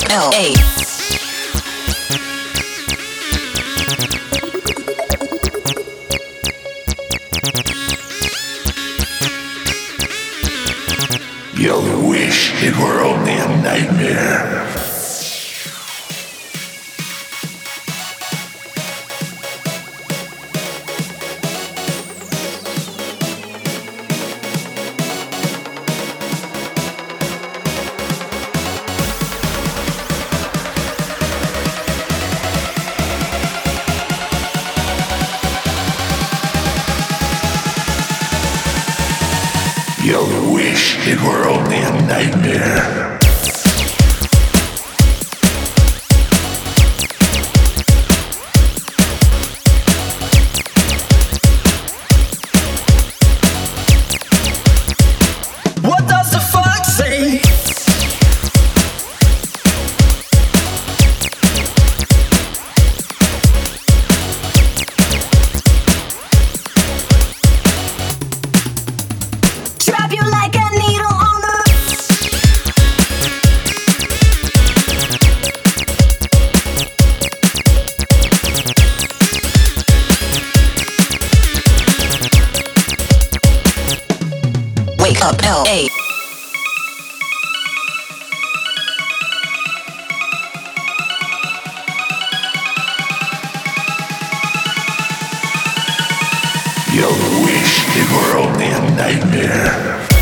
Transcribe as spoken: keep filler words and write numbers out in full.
L A. You'll wish it were only a nightmare. You'll wish it were only a nightmare. What does the fuck say? Trap you like a needle on the Wake up L A. You'll wish it were only a nightmare.